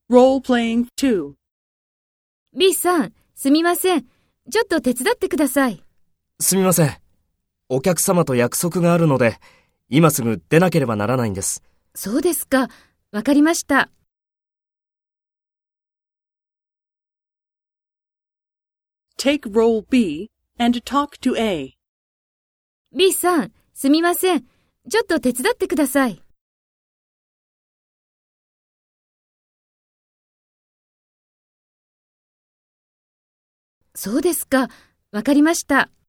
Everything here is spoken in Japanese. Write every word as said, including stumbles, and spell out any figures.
Role-playing two. B さん、すみません。ちょっと手伝ってください。 すみません。お客様と約束があるので、今すぐ出なければならないんです。 そうですか。わかりました。 Take role B and talk to A. B さん、すみません。ちょっと手伝ってください。そうですか。わかりました。